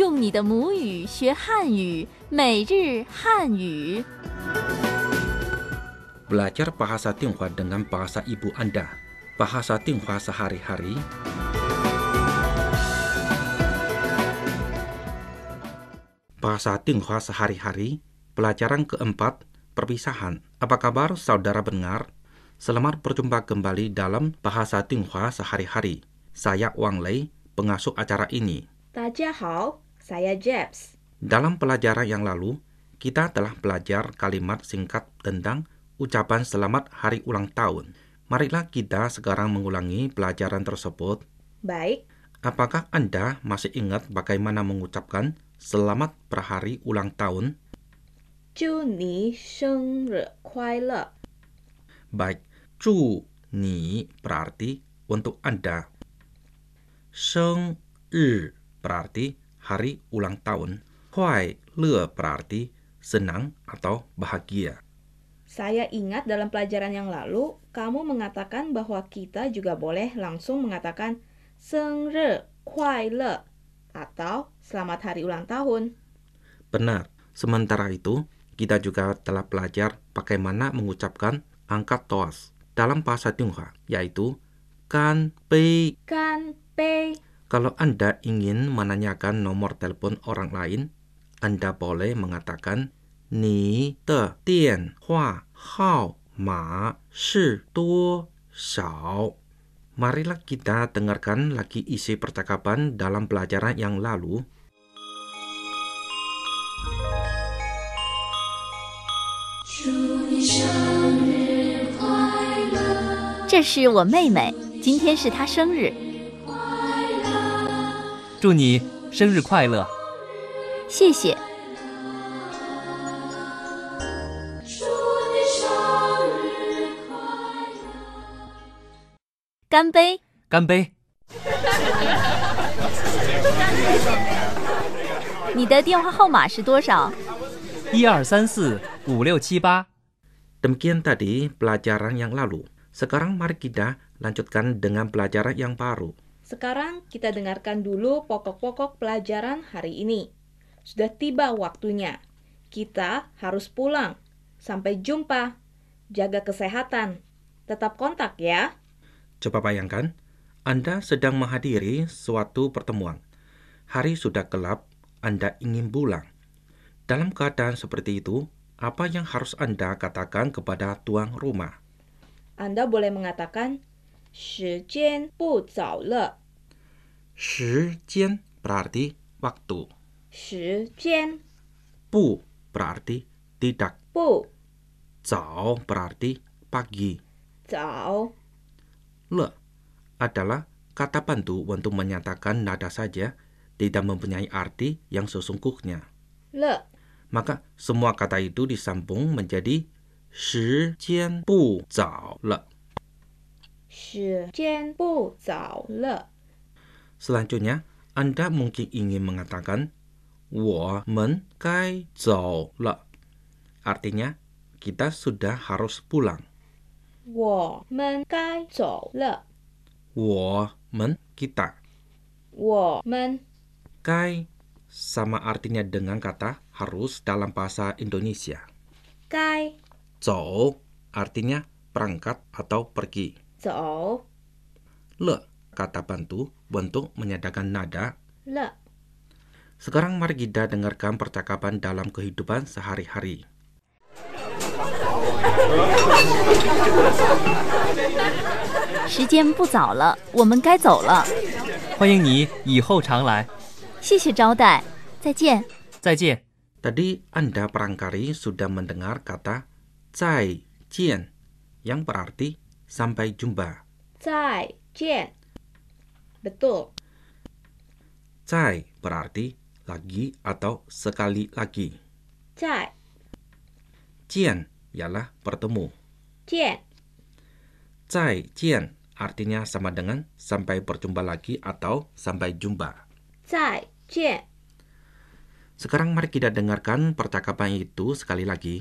用你的母语学汉语，每日汉语。 Belajar bahasa Tionghoa dengan bahasa ibu Anda. Bahasa Tionghoa sehari-hari. Bahasa Tionghoa sehari-hari, pelajaran keempat, perpisahan. Apa kabar saudara pendengar? Selamat berjumpa kembali dalam Bahasa Tionghoa sehari-hari. Saya Wang Lei, pengasuh acara ini. 大家好, saya Jeps. Dalam pelajaran yang lalu, kita telah belajar kalimat singkat tentang ucapan selamat hari ulang tahun. Marilah kita sekarang mengulangi pelajaran tersebut. Baik. Apakah Anda masih ingat bagaimana mengucapkan selamat berhari ulang tahun? 祝你生日快乐. Baik, 祝你 berarti untuk Anda. 生日 berarti hari ulang tahun. 快乐 berarti senang atau bahagia. Saya ingat dalam pelajaran yang lalu, kamu mengatakan bahwa kita juga boleh langsung mengatakan 生日快乐 atau selamat hari ulang tahun. Benar. Sementara itu, kita juga telah belajar bagaimana mengucapkan angkat toas dalam bahasa Tionghoa, yaitu kan bei. Kan bei. Kalau Anda ingin menanyakan nomor telepon orang lain, Anda boleh mengatakan 你的电话号码是多少? Marilah kita dengarkan lagi isi percakapan dalam pelajaran yang lalu. 祝你生日快乐！这是我妹妹，今天是她生日。 祝你生日快乐！ 谢谢。干杯！ 干杯！ 你的电话号码是多少 ？12345678。 Demikian tadi pelajaran yang lalu. Sekarang mari kita lanjutkan dengan pelajaran yang baru. Sekarang kita dengarkan dulu pokok-pokok pelajaran hari ini. Sudah tiba waktunya. Kita harus pulang. Sampai jumpa. Jaga kesehatan. Tetap kontak ya. Coba bayangkan, Anda sedang menghadiri suatu pertemuan. Hari sudah gelap, Anda ingin pulang. Dalam keadaan seperti itu, apa yang harus Anda katakan kepada tuan rumah? Anda boleh mengatakan 时间不早了. 时间 berarti waktu. 时间不 berarti tidak. 不早 berarti pagi. 早 Le adalah kata bantu untuk menyatakan nada saja, tidak mempunyai arti yang sesungguhnya. 了 Maka semua kata itu disambung menjadi 时间不早了. 时间不早了. Selanjutnya, Anda mungkin ingin mengatakan 我们该走了. Artinya, kita sudah harus pulang. 我们该走了. 我们 kita. 我们该 sama artinya dengan kata harus dalam bahasa Indonesia. 该走 artinya berangkat atau pergi. 走 Le kata bantu untuk menyatakan nada. 了. Sekarang mari kita dengarkan percakapan dalam kehidupan sehari-hari. 时间不早了，我们该走了。 欢迎你以后常来。 谢谢招待，再见。 再见。 Tadi Anda barangkali sudah mendengar kata 再见 yang berarti sampai jumpa. 再见. Betul. 再 berarti lagi atau sekali lagi. 再见 ialah bertemu. 见再见 artinya sama dengan sampai berjumpa lagi atau sampai jumpa. 再见. Sekarang mari kita dengarkan percakapan itu sekali lagi.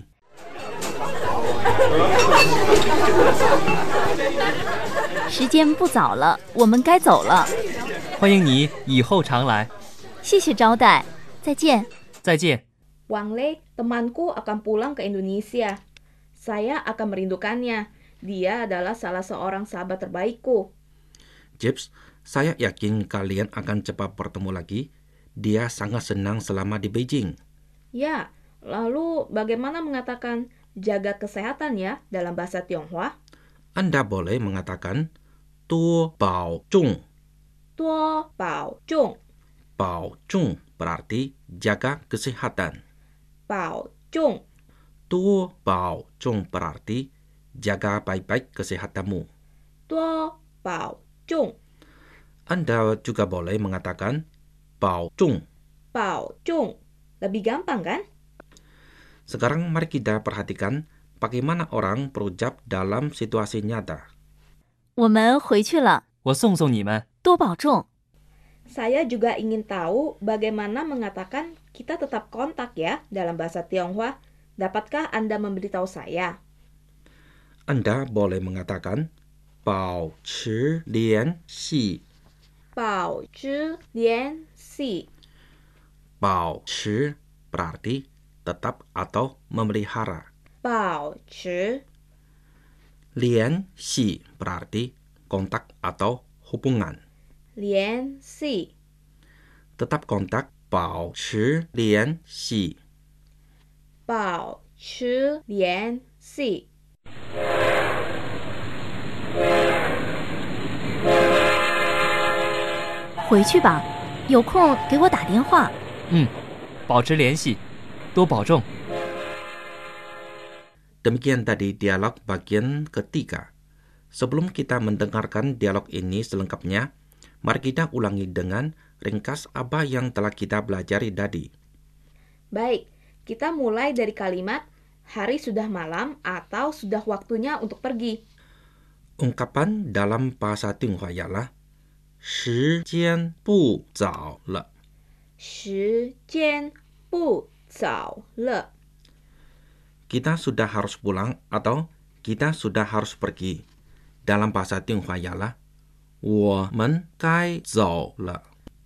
时间不早了，我们该走了。 欢迎你以后常来。 谢谢招待， 再见。 再见。 Wang Lei, temanku akan pulang ke Indonesia. Saya akan merindukannya. Dia adalah salah seorang sahabat terbaikku. Jeps, saya yakin kalian akan cepat bertemu lagi. Dia sangat senang selama di Beijing. Ya, lalu bagaimana mengatakan jaga kesehatan ya dalam bahasa Tionghoa? Anda boleh mengatakan tuo bao zhong. Tuo bao zhong. Bao zhong berarti jaga kesehatan. Bao zhong. Tuo bao zhong berarti jaga baik-baik kesehatanmu. Tuo bao zhong. Anda juga boleh mengatakan bao zhong. Bao zhong. Lebih gampang kan? Sekarang mari kita perhatikan bagaimana orang berucap dalam situasi nyata. 我们回去了， 我送送你们。 多保重。 Saya juga ingin tahu bagaimana mengatakan kita tetap kontak ya dalam bahasa Tionghoa. Dapatkah Anda memberitahu saya? Anda boleh mengatakan 保持联系。 保持联系。 保持 berarti tetap atau memelihara. 保持。 联系 berarti kontak atau hubungan. 联系。 Tetap kontak 保持联系。 保持联系。 回去吧，有空给我打电话。 保持联系，多保重。 Demikian tadi dialog bagian ketiga. Sebelum kita mendengarkan dialog ini selengkapnya, mari kita ulangi dengan ringkas apa yang telah kita pelajari tadi. Baik, kita mulai dari kalimat hari sudah malam atau sudah waktunya untuk pergi. Ungkapan dalam bahasa Tionghoa ialah 时间不早了。 时间不早了。 Kita sudah harus pulang atau kita sudah harus pergi. Dalam bahasa Tionghoa ialah 我们该走了。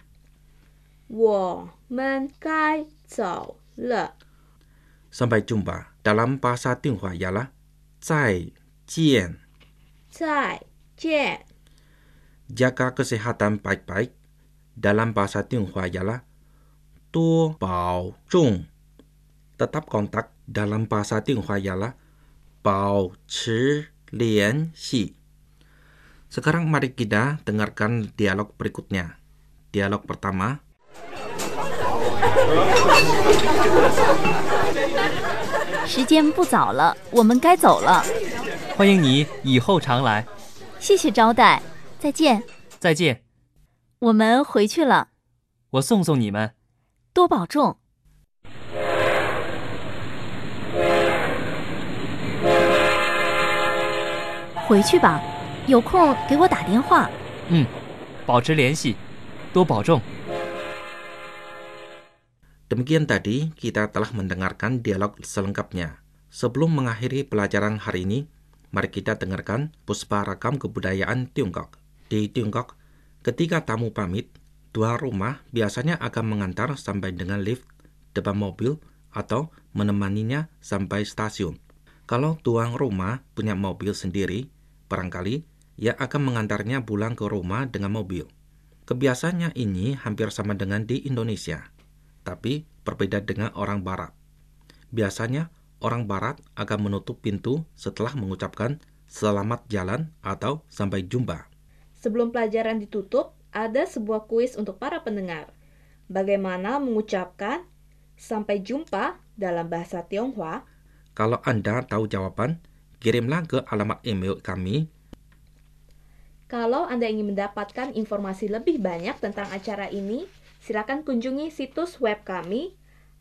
我们该走了。 Sampai jumpa. Dalam bahasa Tionghoa ialah 再见。 再见。 Jaga kesehatan baik-baik. Dalam bahasa Tionghoa ialah 多保重。Tetap kontak dalam bahasa Tionghoa ialah 保持联系。Sekarang mari kita dengarkan dialog berikutnya. Dialog pertama. 时间不早了，我们该走了。 欢迎你以后常来。 谢谢招待，再见。 再见。 我们回去了， 我送送你们。 多保重。回去吧，有空给我打电话。 保持联系，多保重。 Demikian tadi kita telah mendengarkan dialog selengkapnya. Sebelum mengakhiri pelajaran hari ini, mari kita dengarkan Puspa Ragam Kebudayaan Tiongkok. Di Tiongkok, ketika tamu pamit, tuan rumah biasanya akan mengantar sampai dengan lift depan mobil atau menemaninya sampai stasiun. Kalau tuan rumah punya mobil sendiri, barangkali ia akan mengantarnya pulang ke rumah dengan mobil. Kebiasaannya ini hampir sama dengan di Indonesia. Tapi berbeda dengan orang barat. Biasanya orang barat akan menutup pintu setelah mengucapkan selamat jalan atau sampai jumpa. Sebelum pelajaran ditutup, ada sebuah kuis untuk para pendengar. Bagaimana mengucapkan sampai jumpa dalam bahasa Tionghoa? Kalau Anda tahu jawaban, kirimlah ke alamat email kami. Kalau Anda ingin mendapatkan informasi lebih banyak tentang acara ini, silakan kunjungi situs web kami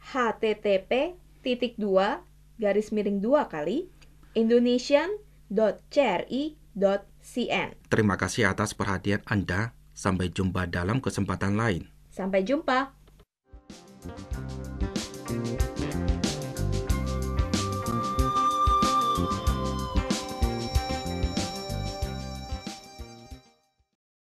http://2 indonesian.cri.cn. Terima kasih atas perhatian Anda. Sampai jumpa dalam kesempatan lain. Sampai jumpa.